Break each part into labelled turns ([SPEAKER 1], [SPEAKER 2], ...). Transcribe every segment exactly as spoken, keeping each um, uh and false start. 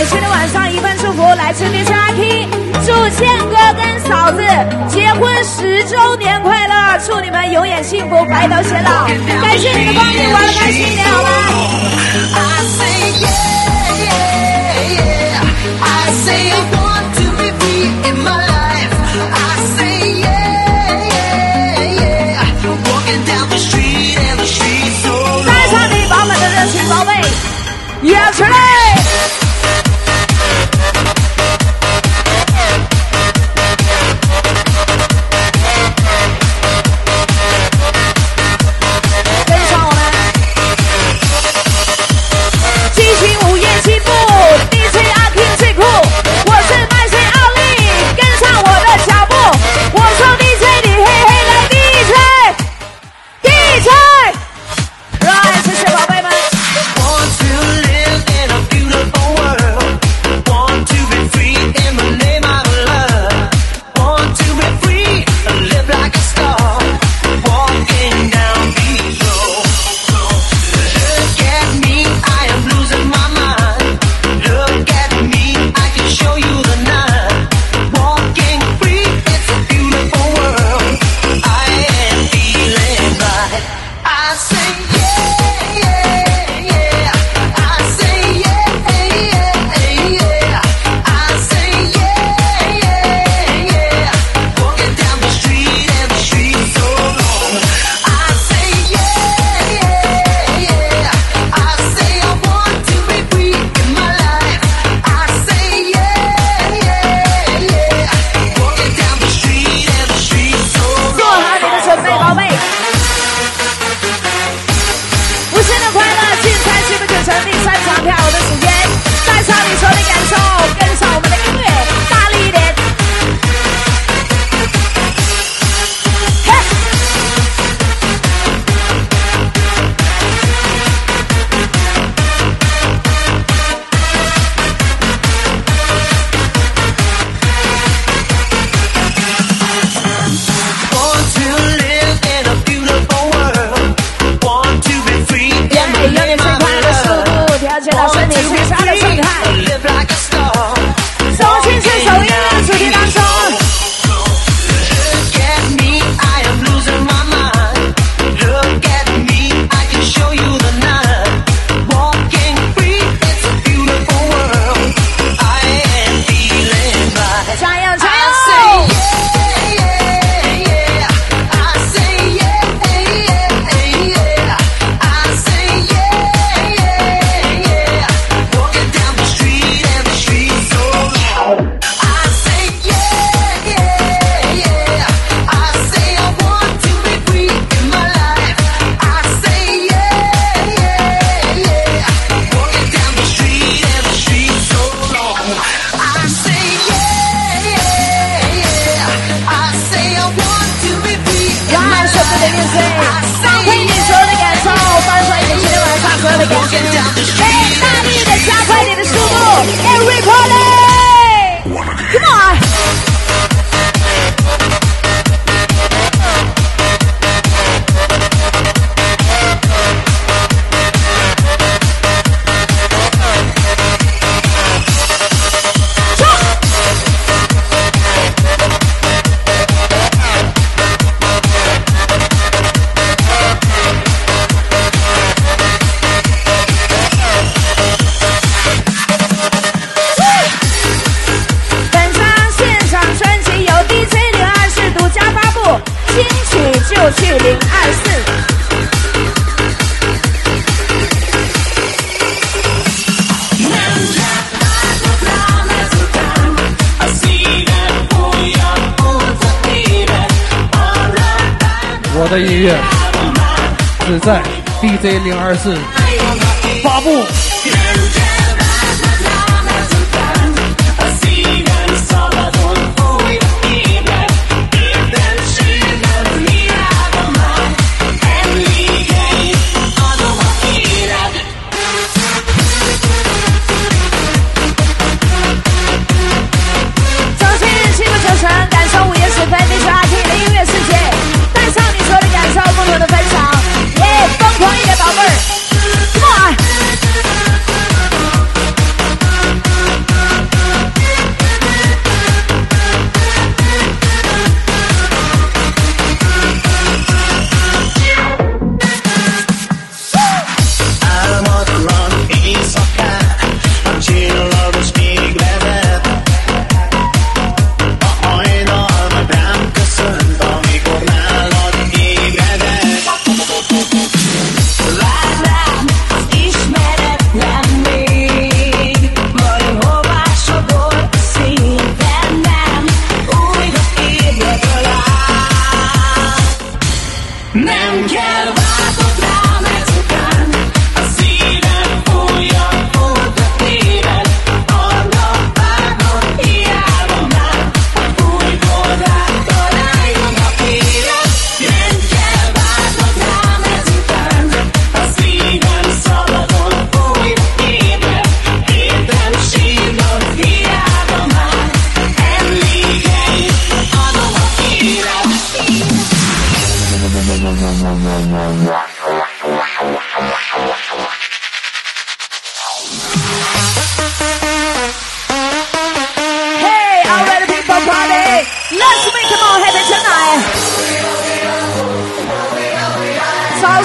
[SPEAKER 1] 今天晚上一份祝福来自 D J 阿 K， 祝健哥跟嫂子结婚十周年快乐，祝你们永远幸福，白头偕老。感谢你的光临，玩得开心一点好吗？ I say I want to be free in my life. I say yeah, yeah, yeah. Walking down the street and the street so long. 在场里饱满的热情宝贝，演出来！跟上我们，激情午夜起步 ，D J 阿 King 最酷。 我是麦穗奥利，跟上我的脚步。我说 D J， 你嘿嘿来 D J，D J， 来，谢谢宝贝们。
[SPEAKER 2] 我的音乐只在 D J 零二四发布。
[SPEAKER 1] 共同一点宝贝儿，Come on！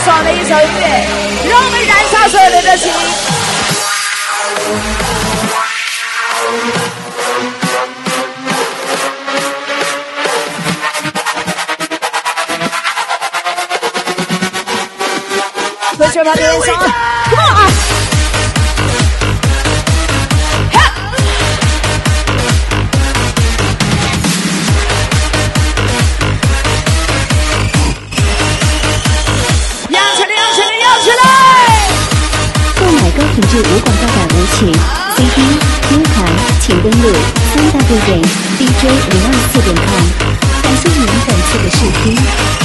[SPEAKER 3] 爽的一首音乐，让我们燃烧所有的热情。Put your hands on, come on!
[SPEAKER 4] 高品质无广告版舞曲 C D U 盘，请登录三 W 点 D J 零二四点 com。感谢您本次的试听。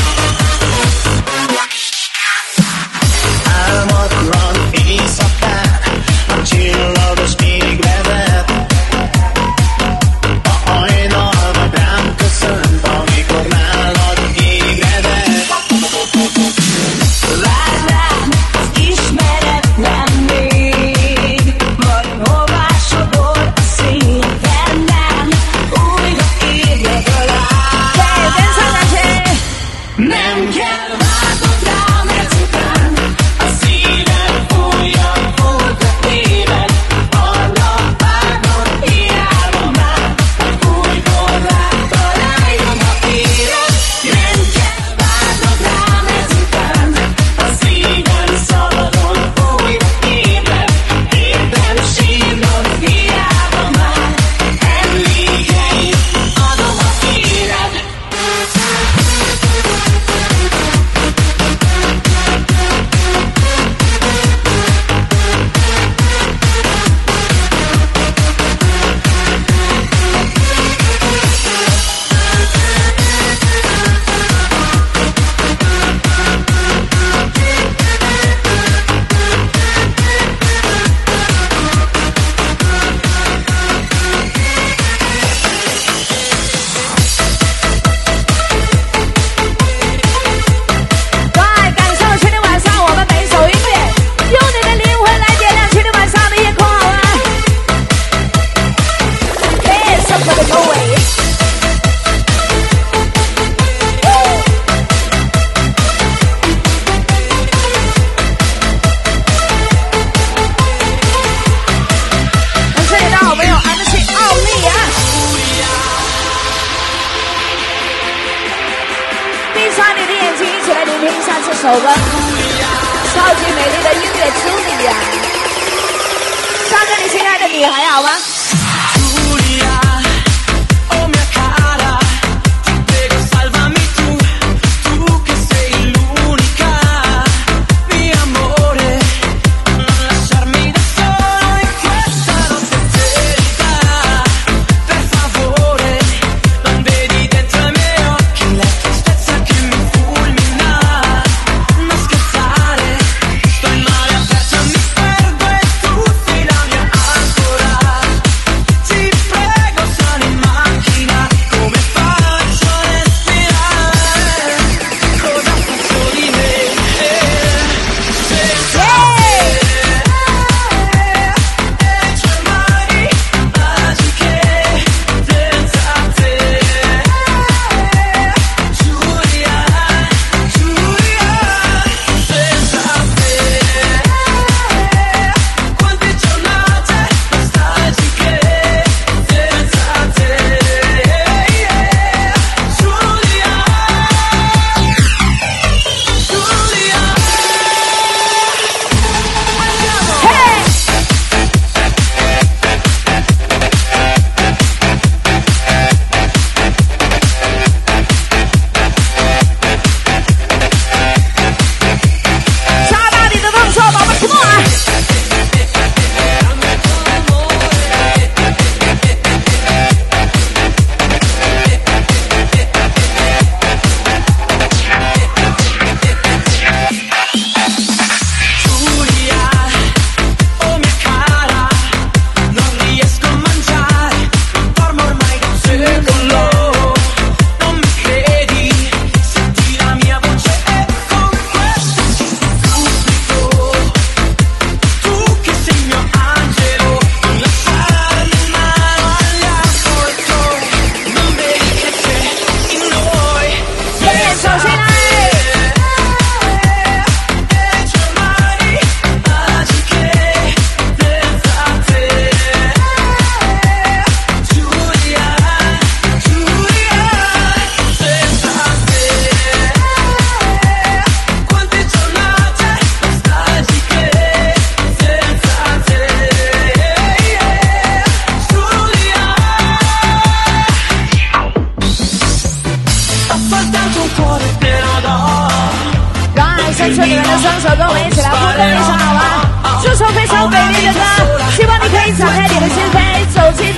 [SPEAKER 3] 首歌，超级美丽的音乐处理呀！唱给你心爱的你还好吗？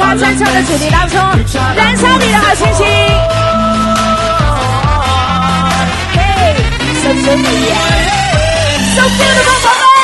[SPEAKER 3] 要战场的主题当中，燃烧你的好心情。Hey, so beautiful, so beautiful, 宝贝。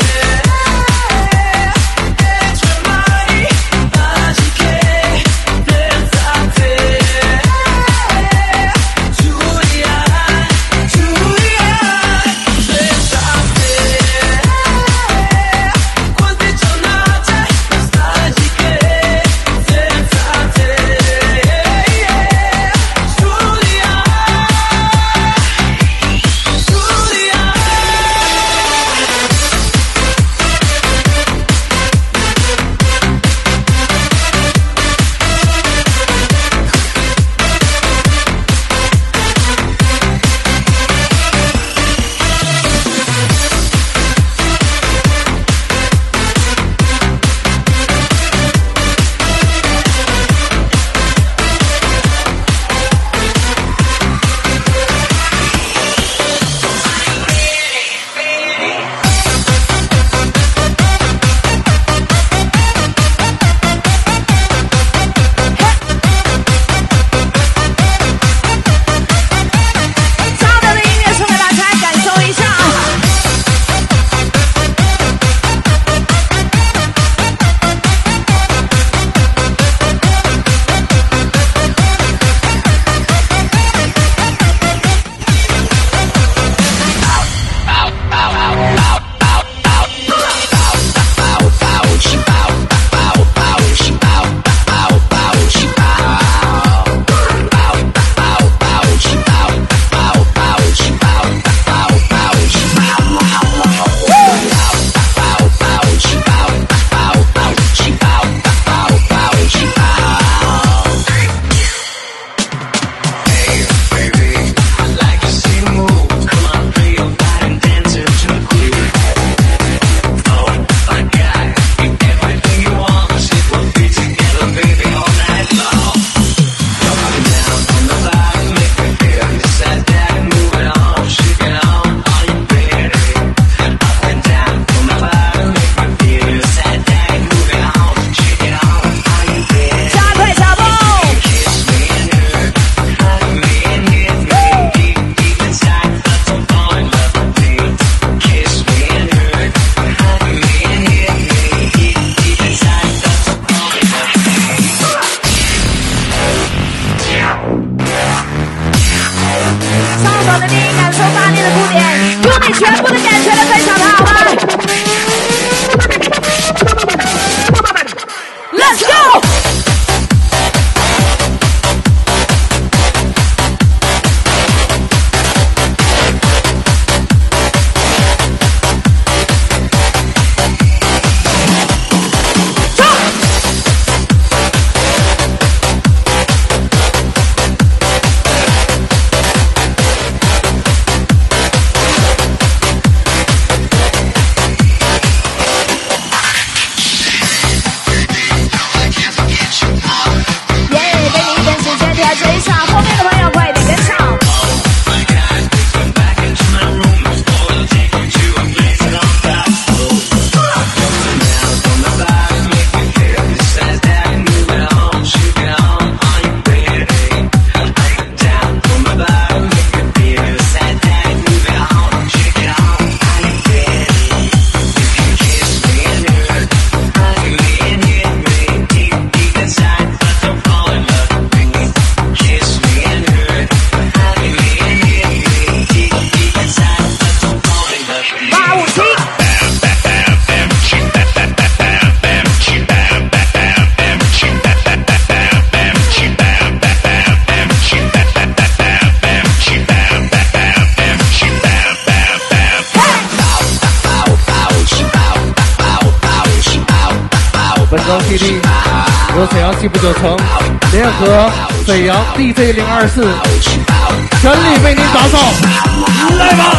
[SPEAKER 2] 本周 P D 由沈阳西部九城联合沈阳 D J 零二四全力为您打造，来吧！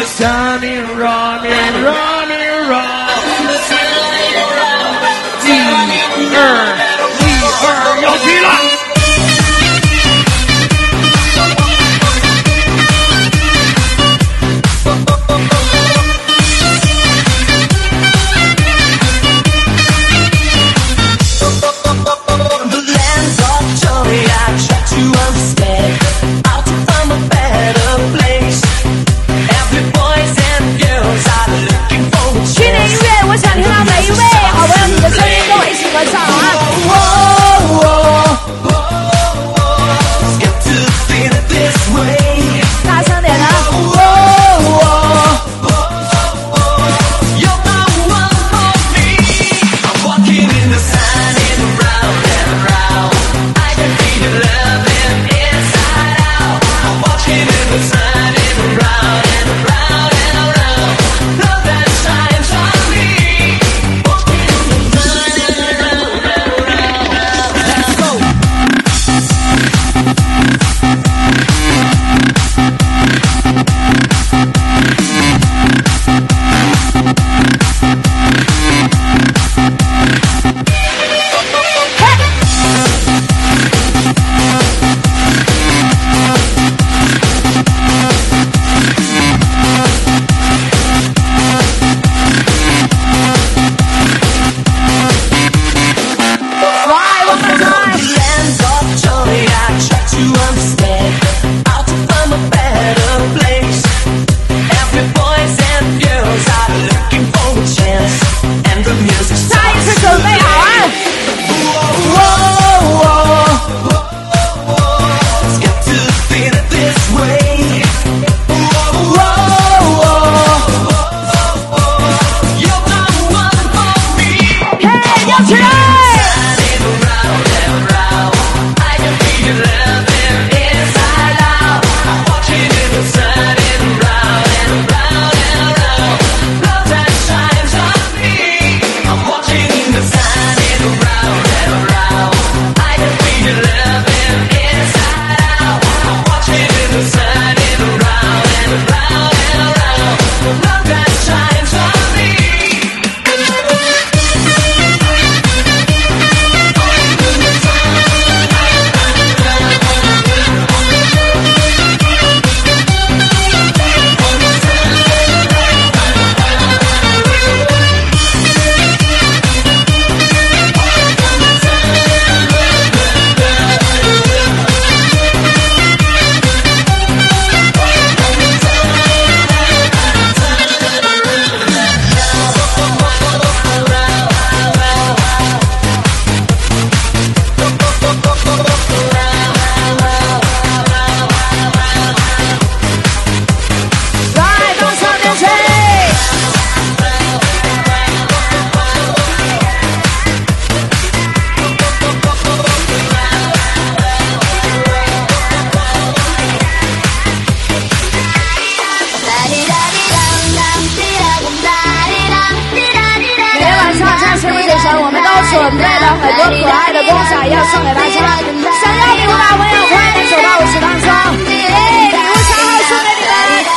[SPEAKER 2] Sunny running running run， 一二一二要去了。
[SPEAKER 3] 去年音乐，我想听到每一位好朋友，你的声音跟我一起合唱啊！大声点啊！准备了很多可爱的公仔要送给大家，想要礼物的朋友快点走到舞池当中，哎，礼物小号送给你们。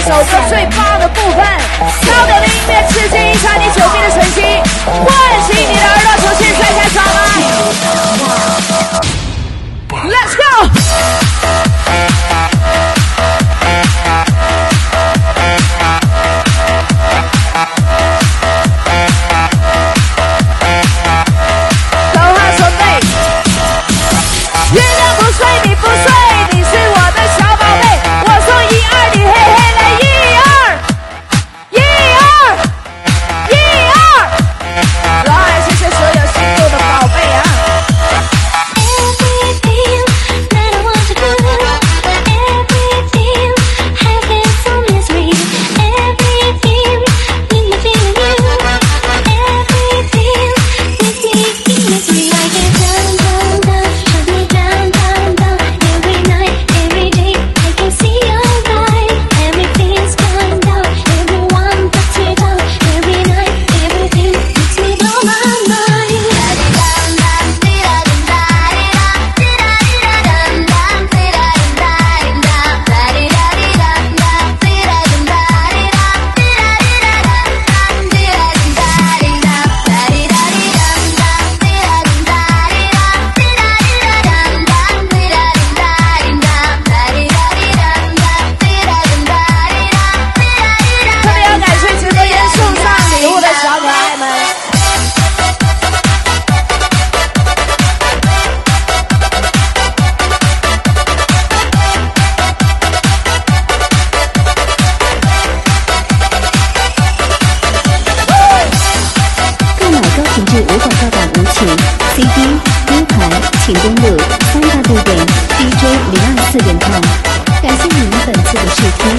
[SPEAKER 3] 首歌最棒的部分，高点的音乐刺激一下你久闭的神经，唤醒你的耳朵，重新再开场来 ，Let's go！ 都好准备，月亮不睡，你不睡，你是我的小宝贝，我说一二，你嘿嘿来一二，一二，一二，来，谢谢所有星座的宝贝啊。
[SPEAKER 4] 请登录三 w 点 d j 零二四点 com， 感谢你们本次的试听。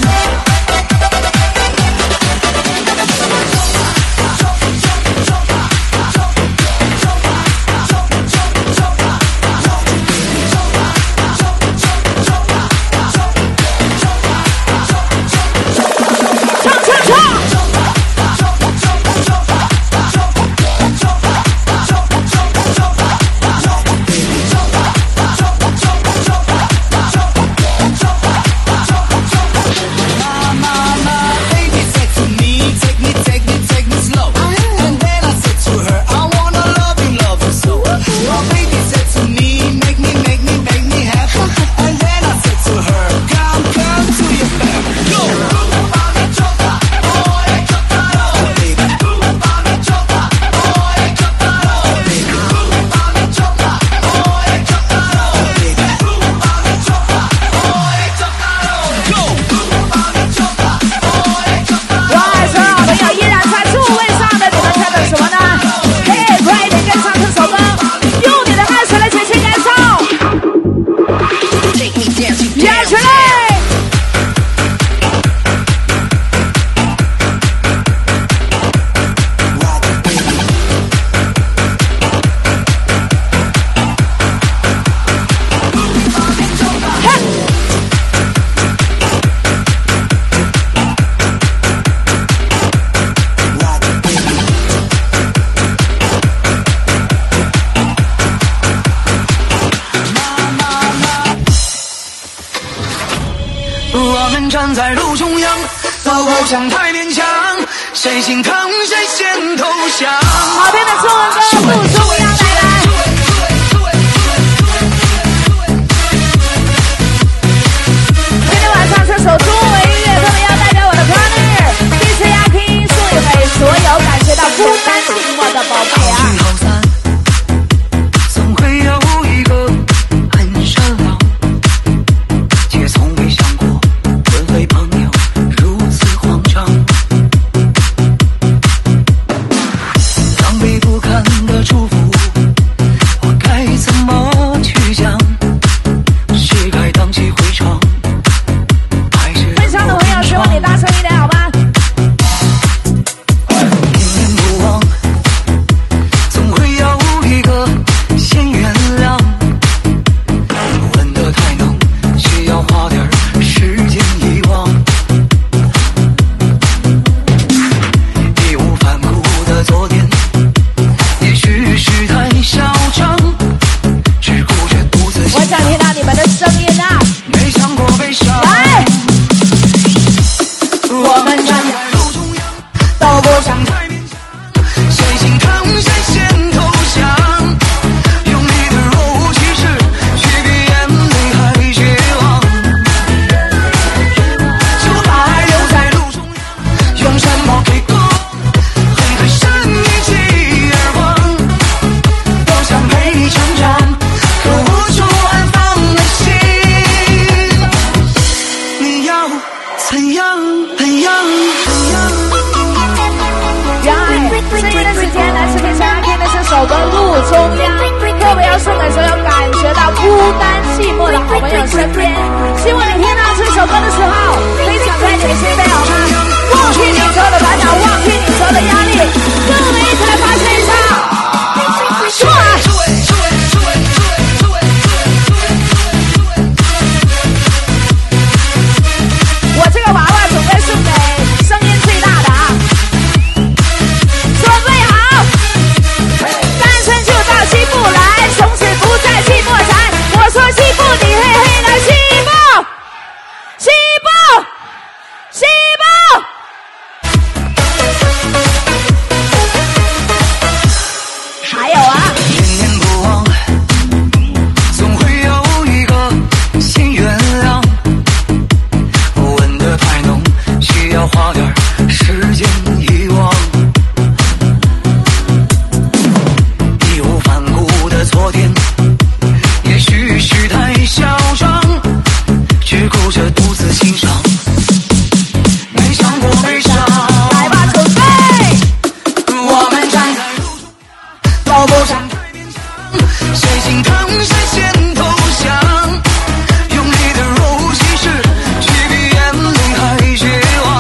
[SPEAKER 1] 站在路中央，走过墙太勉强，谁心疼谁先投降。
[SPEAKER 3] 好听的中文歌不重要，带来。今天晚上这首中文音乐特别要代表我的 partner D J 阿 King 送给所有感觉到孤单寂寞的宝贝啊。
[SPEAKER 1] 总会有一个很善良，却从未想过沦为朋友，如此慌张。狼狈不堪的祝福
[SPEAKER 3] 首歌《路中央》，特别要送给所有感觉到孤单寂寞的好朋友身边。希望你听到这首歌的时候，可以敞开你的心扉，好吗？忘记你所有的烦恼，忘记你所有的压力，跟我们一起来发泄一下。出来！我这个娃娃准备送给声音最大的啊！准备好，单身就到西部来，从此不再寂寞缠。我说西部，你嘿嘿来西部，西部，西部。还有啊。
[SPEAKER 1] 念念不忘，总会有一个新原谅。吻得太浓，需要花点时间遗忘。义无反顾的昨天，也许是太嚣张，只顾着独自欣赏，没想过悲伤。
[SPEAKER 3] 来吧，准备！
[SPEAKER 1] 我们站在路中央，都不想太勉强，谁心疼谁先投降，用力的揉其实却比眼泪还绝望，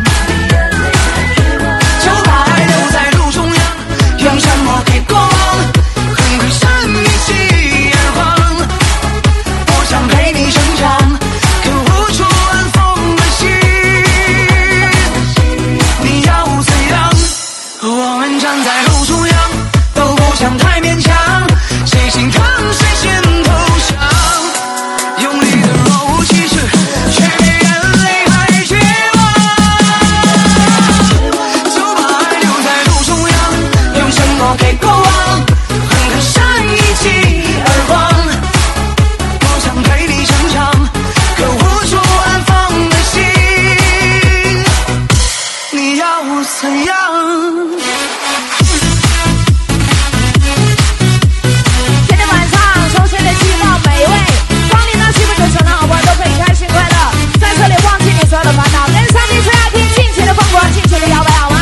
[SPEAKER 1] 就把爱留在路中央，用什么给过往，恨会闪一记而光，我想陪你成长，可无处安放的心，你要怎样？我们站在路中央，都不想太勉强，谁心疼谁先投降，用力的揉其实却比眼泪还绝望，就把爱留在路中央，用什么给过往，狠狠扇一记耳光，我想陪你成长，可无处安放的心，你要怎样？
[SPEAKER 3] 今天晚上，从现在希望每位光临到西部九城的好朋友都可以开心快乐，在这里忘记你所有的烦恼，跟上帝吹下听，尽情的疯狂，尽情的摇摆，好吗？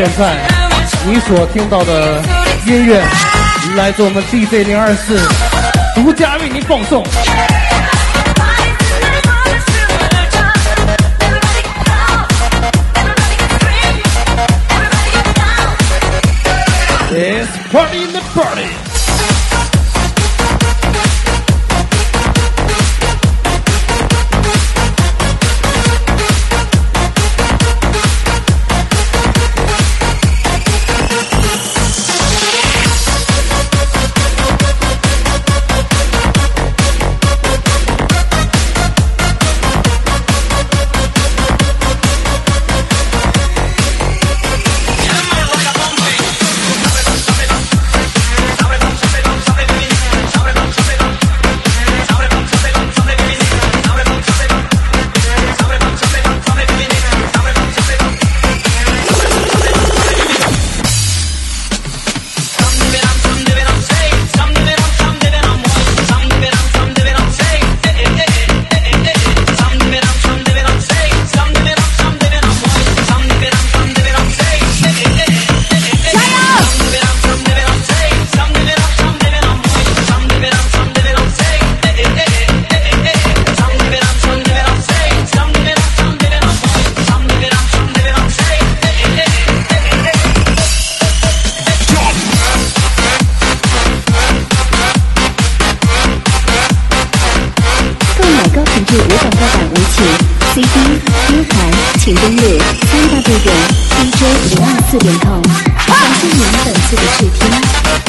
[SPEAKER 2] 现在你所听到的音乐，来自我们 D J 零二四独家为您奉送。It's party in the party.
[SPEAKER 4] C D、U 盘，请登录三 W 点 D J 零二四点 com。感谢您本次的试听。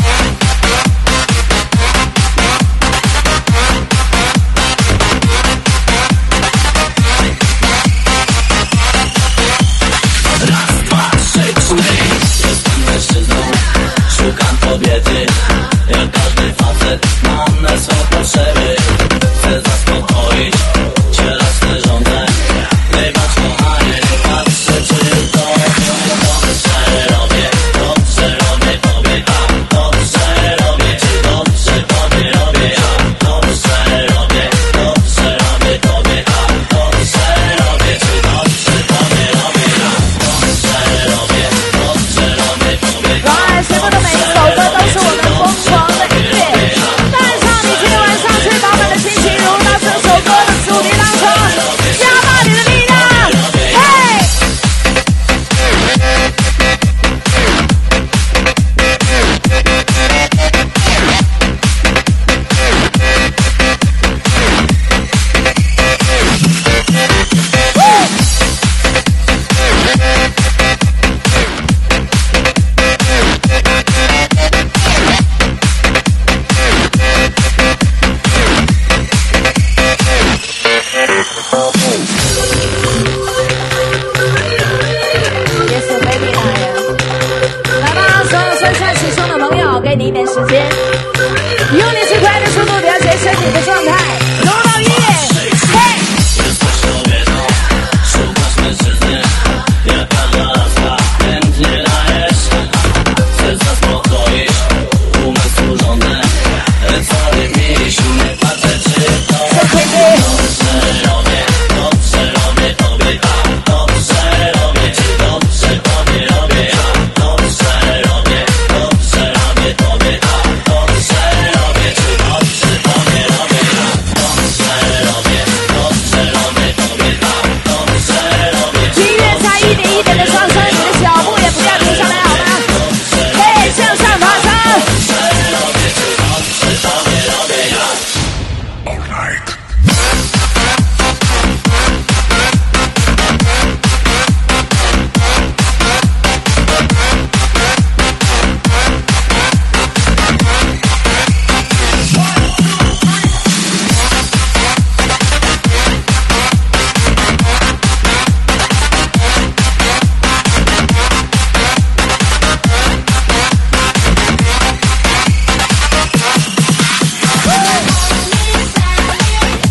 [SPEAKER 5] Szukam kobiety, jak każdy facet, mam na są potrzeby. Chcę zaspokoić cielesne żądze. Wybacz kochanie, nie patrzę czy to dobrze robię, dobrze robię tobie, a dobrze robię, czy dobrze tobie robię, a dobrze robię, dobrze robię tobie, a dobrze robię, czy dobrze tobie robię, a dobrze robię, dobrze robię tobie.
[SPEAKER 3] 然而，随后的每一首歌都是我们疯狂的音乐，带上你今天晚上最饱满的心情，融入到这首歌的主题当中，加大你的力量，嘿！给你一点时间，用你最快的速度了解身体的状态，融入到音乐，嘿！ Hey!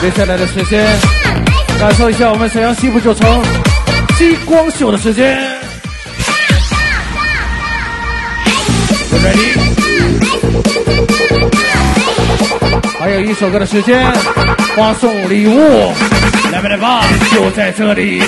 [SPEAKER 2] 接下来的时间，感受一下我们沈阳西部九城激光秀的时间。Ready？ 还有一首歌的时间，发送礼物，来吧来吧，就在这里。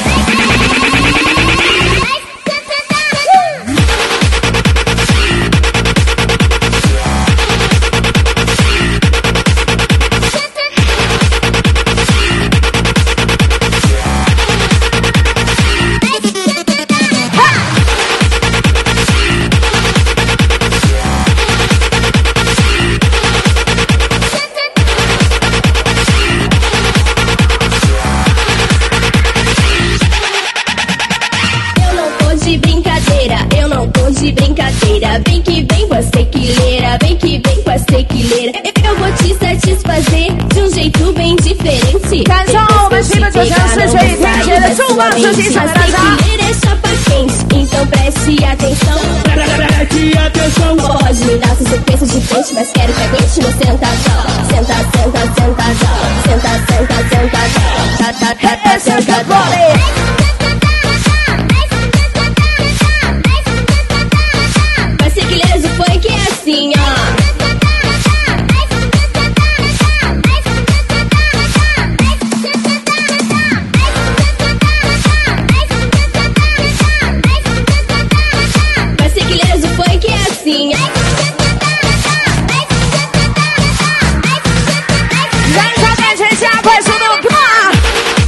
[SPEAKER 6] De brincadeira, vem que vem, você que leira, vem que vem, você que leira. Eu vou te satisfazer de um jeito bem diferente.
[SPEAKER 3] 感受我们西北九城市水天节的重磅资金，大家。
[SPEAKER 6] É chapa quente, então preste atenção. Preste atenção. Pode me dar sua sequência de frente, mas quero que aguente meu sentadão. Senta, senta, sentadão. Senta, senta, sentadão. Tá, tá, tá, tá, sentadão. Foi que é assim, ó. Vai ser que leso, foi que é assim, ó.
[SPEAKER 3] 燃烧感情加快速度 ，Come on！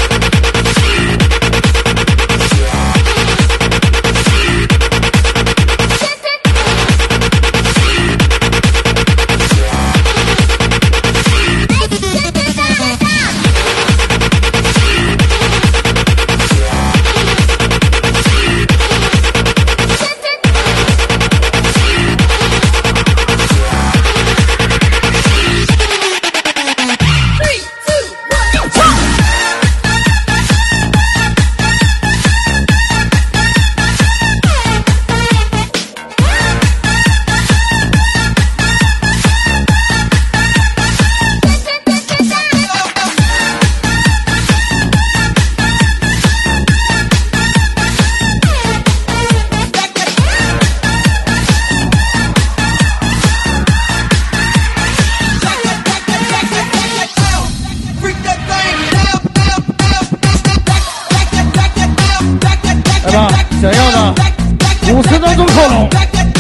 [SPEAKER 2] 想要的五十分钟扣拢，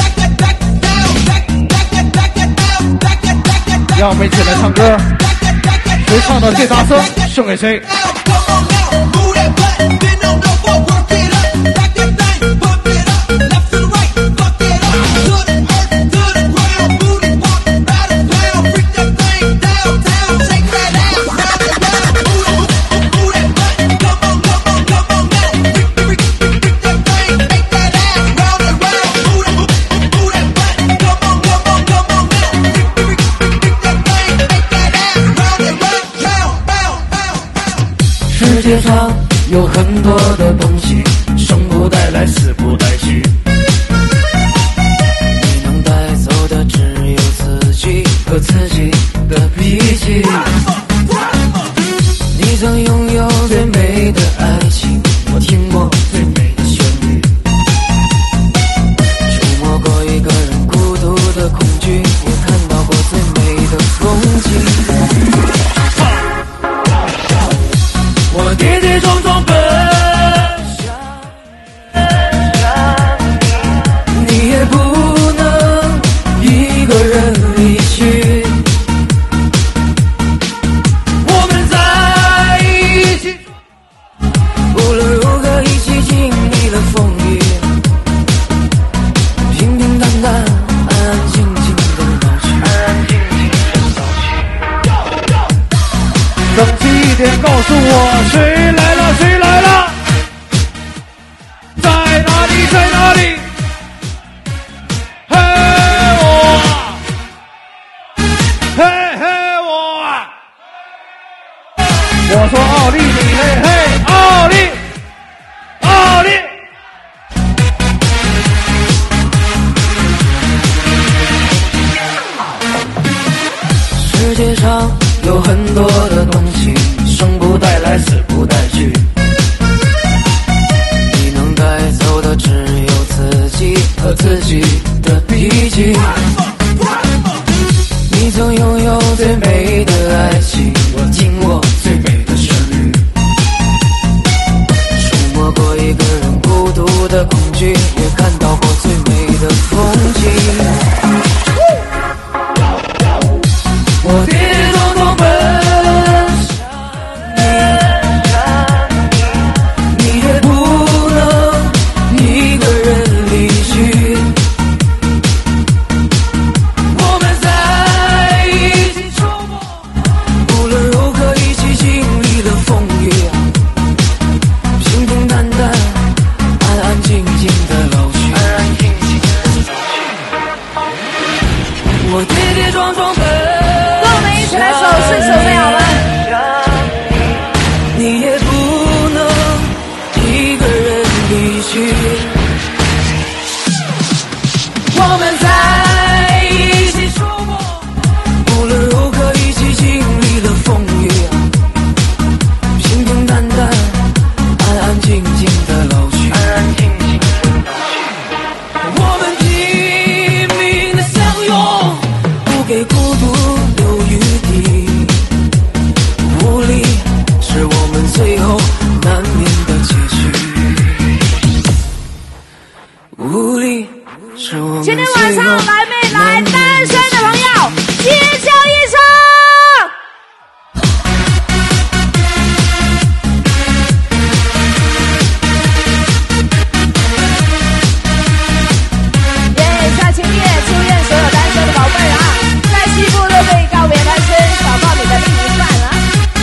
[SPEAKER 2] 让我们一起来唱歌，谁唱的最大声，送给谁。
[SPEAKER 5] 世界上有很多的东西，生不带来，死不带去。你能带走的只有自己和自己的脾气。你曾拥有最美的爱情，我听过最美的旋律。触摸过一个人孤独的恐惧，我看到过最美的风景。我跌跌撞撞奔向你，你也不能一个人离去。我们在一起，无论如何一起经历了风雨，平平淡淡，安安静静的老去，安安静静的老去。
[SPEAKER 2] 整齐一点，告诉我谁来了？谁来了？在哪里？在哪里？嘿我，嘿嘿我，我说奥利，你嘿嘿奥利，奥利。
[SPEAKER 5] 世界上
[SPEAKER 7] 有很多的东西，生不带来，死不带去。你能带走的只有自己和自己的脾气。你曾拥有最美的爱情，我听过最美的旋律。触摸过一个人孤独的恐惧，也看到过最美的风景。我跌跌撞撞奔向你，你也不能一个人离去。我们在一起走过，无论如何一起经历了风雨，平平淡淡，安安静静的老去。我跌跌撞撞奔。
[SPEAKER 3] 一起来手势手背好吗？
[SPEAKER 7] 你也不能一个人离去。我们在一起说过，无论如何一起经历了风雨，平平淡淡，安安静静的老去。我们拼命的相拥，不给孤独留余地。无力是我们最后难免的结局。无力是我们最后
[SPEAKER 3] 今天晚上来没来单身的朋友，尖叫一声！耶！下情夜，祝愿所有单身的宝贝啊，在西部都可以告别单身，找到你的另一半啊！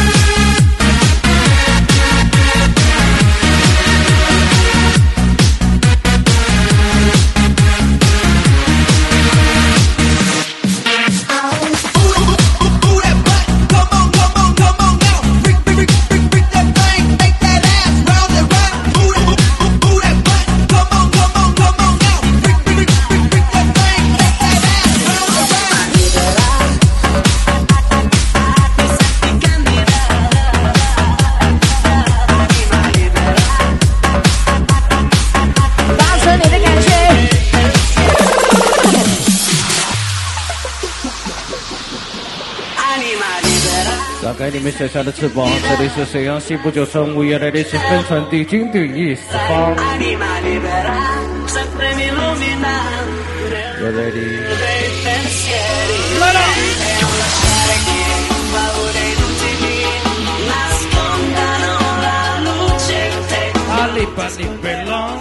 [SPEAKER 2] 打开你们小小的翅膀，这里是沈阳西部九省五月来的是分传递经典意思方。You're ready？ 来了！阿里巴里贝朗。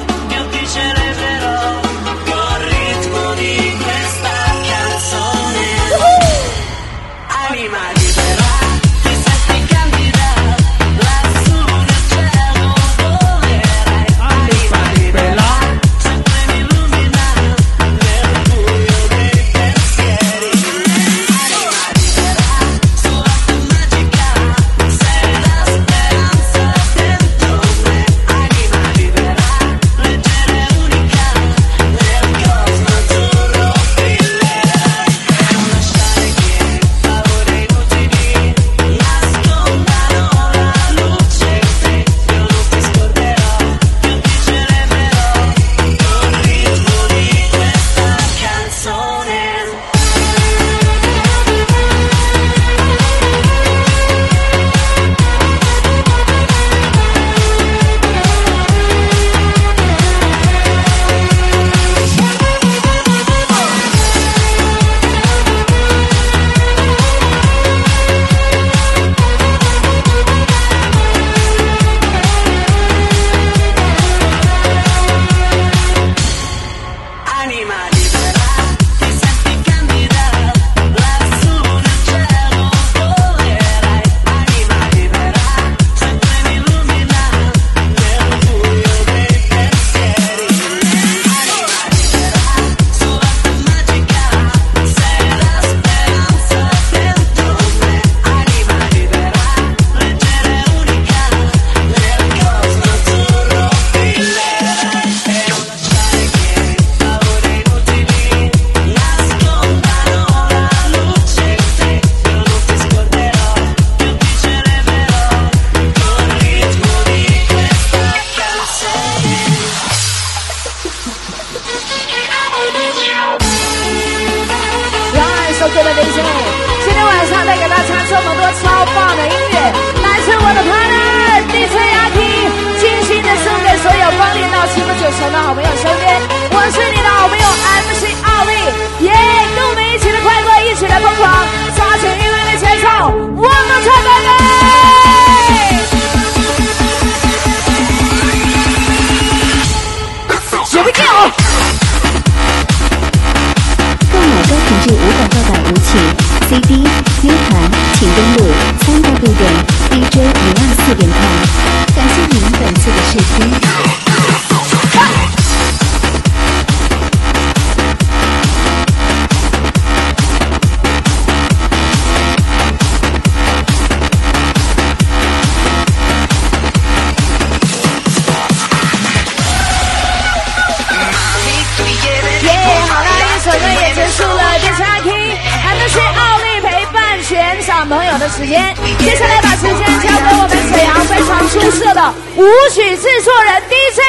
[SPEAKER 3] 国的 D J。今天晚上带给大家这么多超棒的音乐，来自我的 partner D J 阿 K， 精心的送给所有光临到七分九层的好朋友身边。我是你的好朋友 M C 奥利，耶！跟我们一起的快乐，一起来疯狂，抓紧音乐的节奏，我们唱歌嘞！Here we go！
[SPEAKER 4] 购买高品质无广告版舞曲 C D、U 盘，请登录三 W 点 D J 零二四点 com。感谢您本次的试听。
[SPEAKER 3] 朋友的时间，接下来把时间交给我们沈阳非常出色的舞曲制作人 D J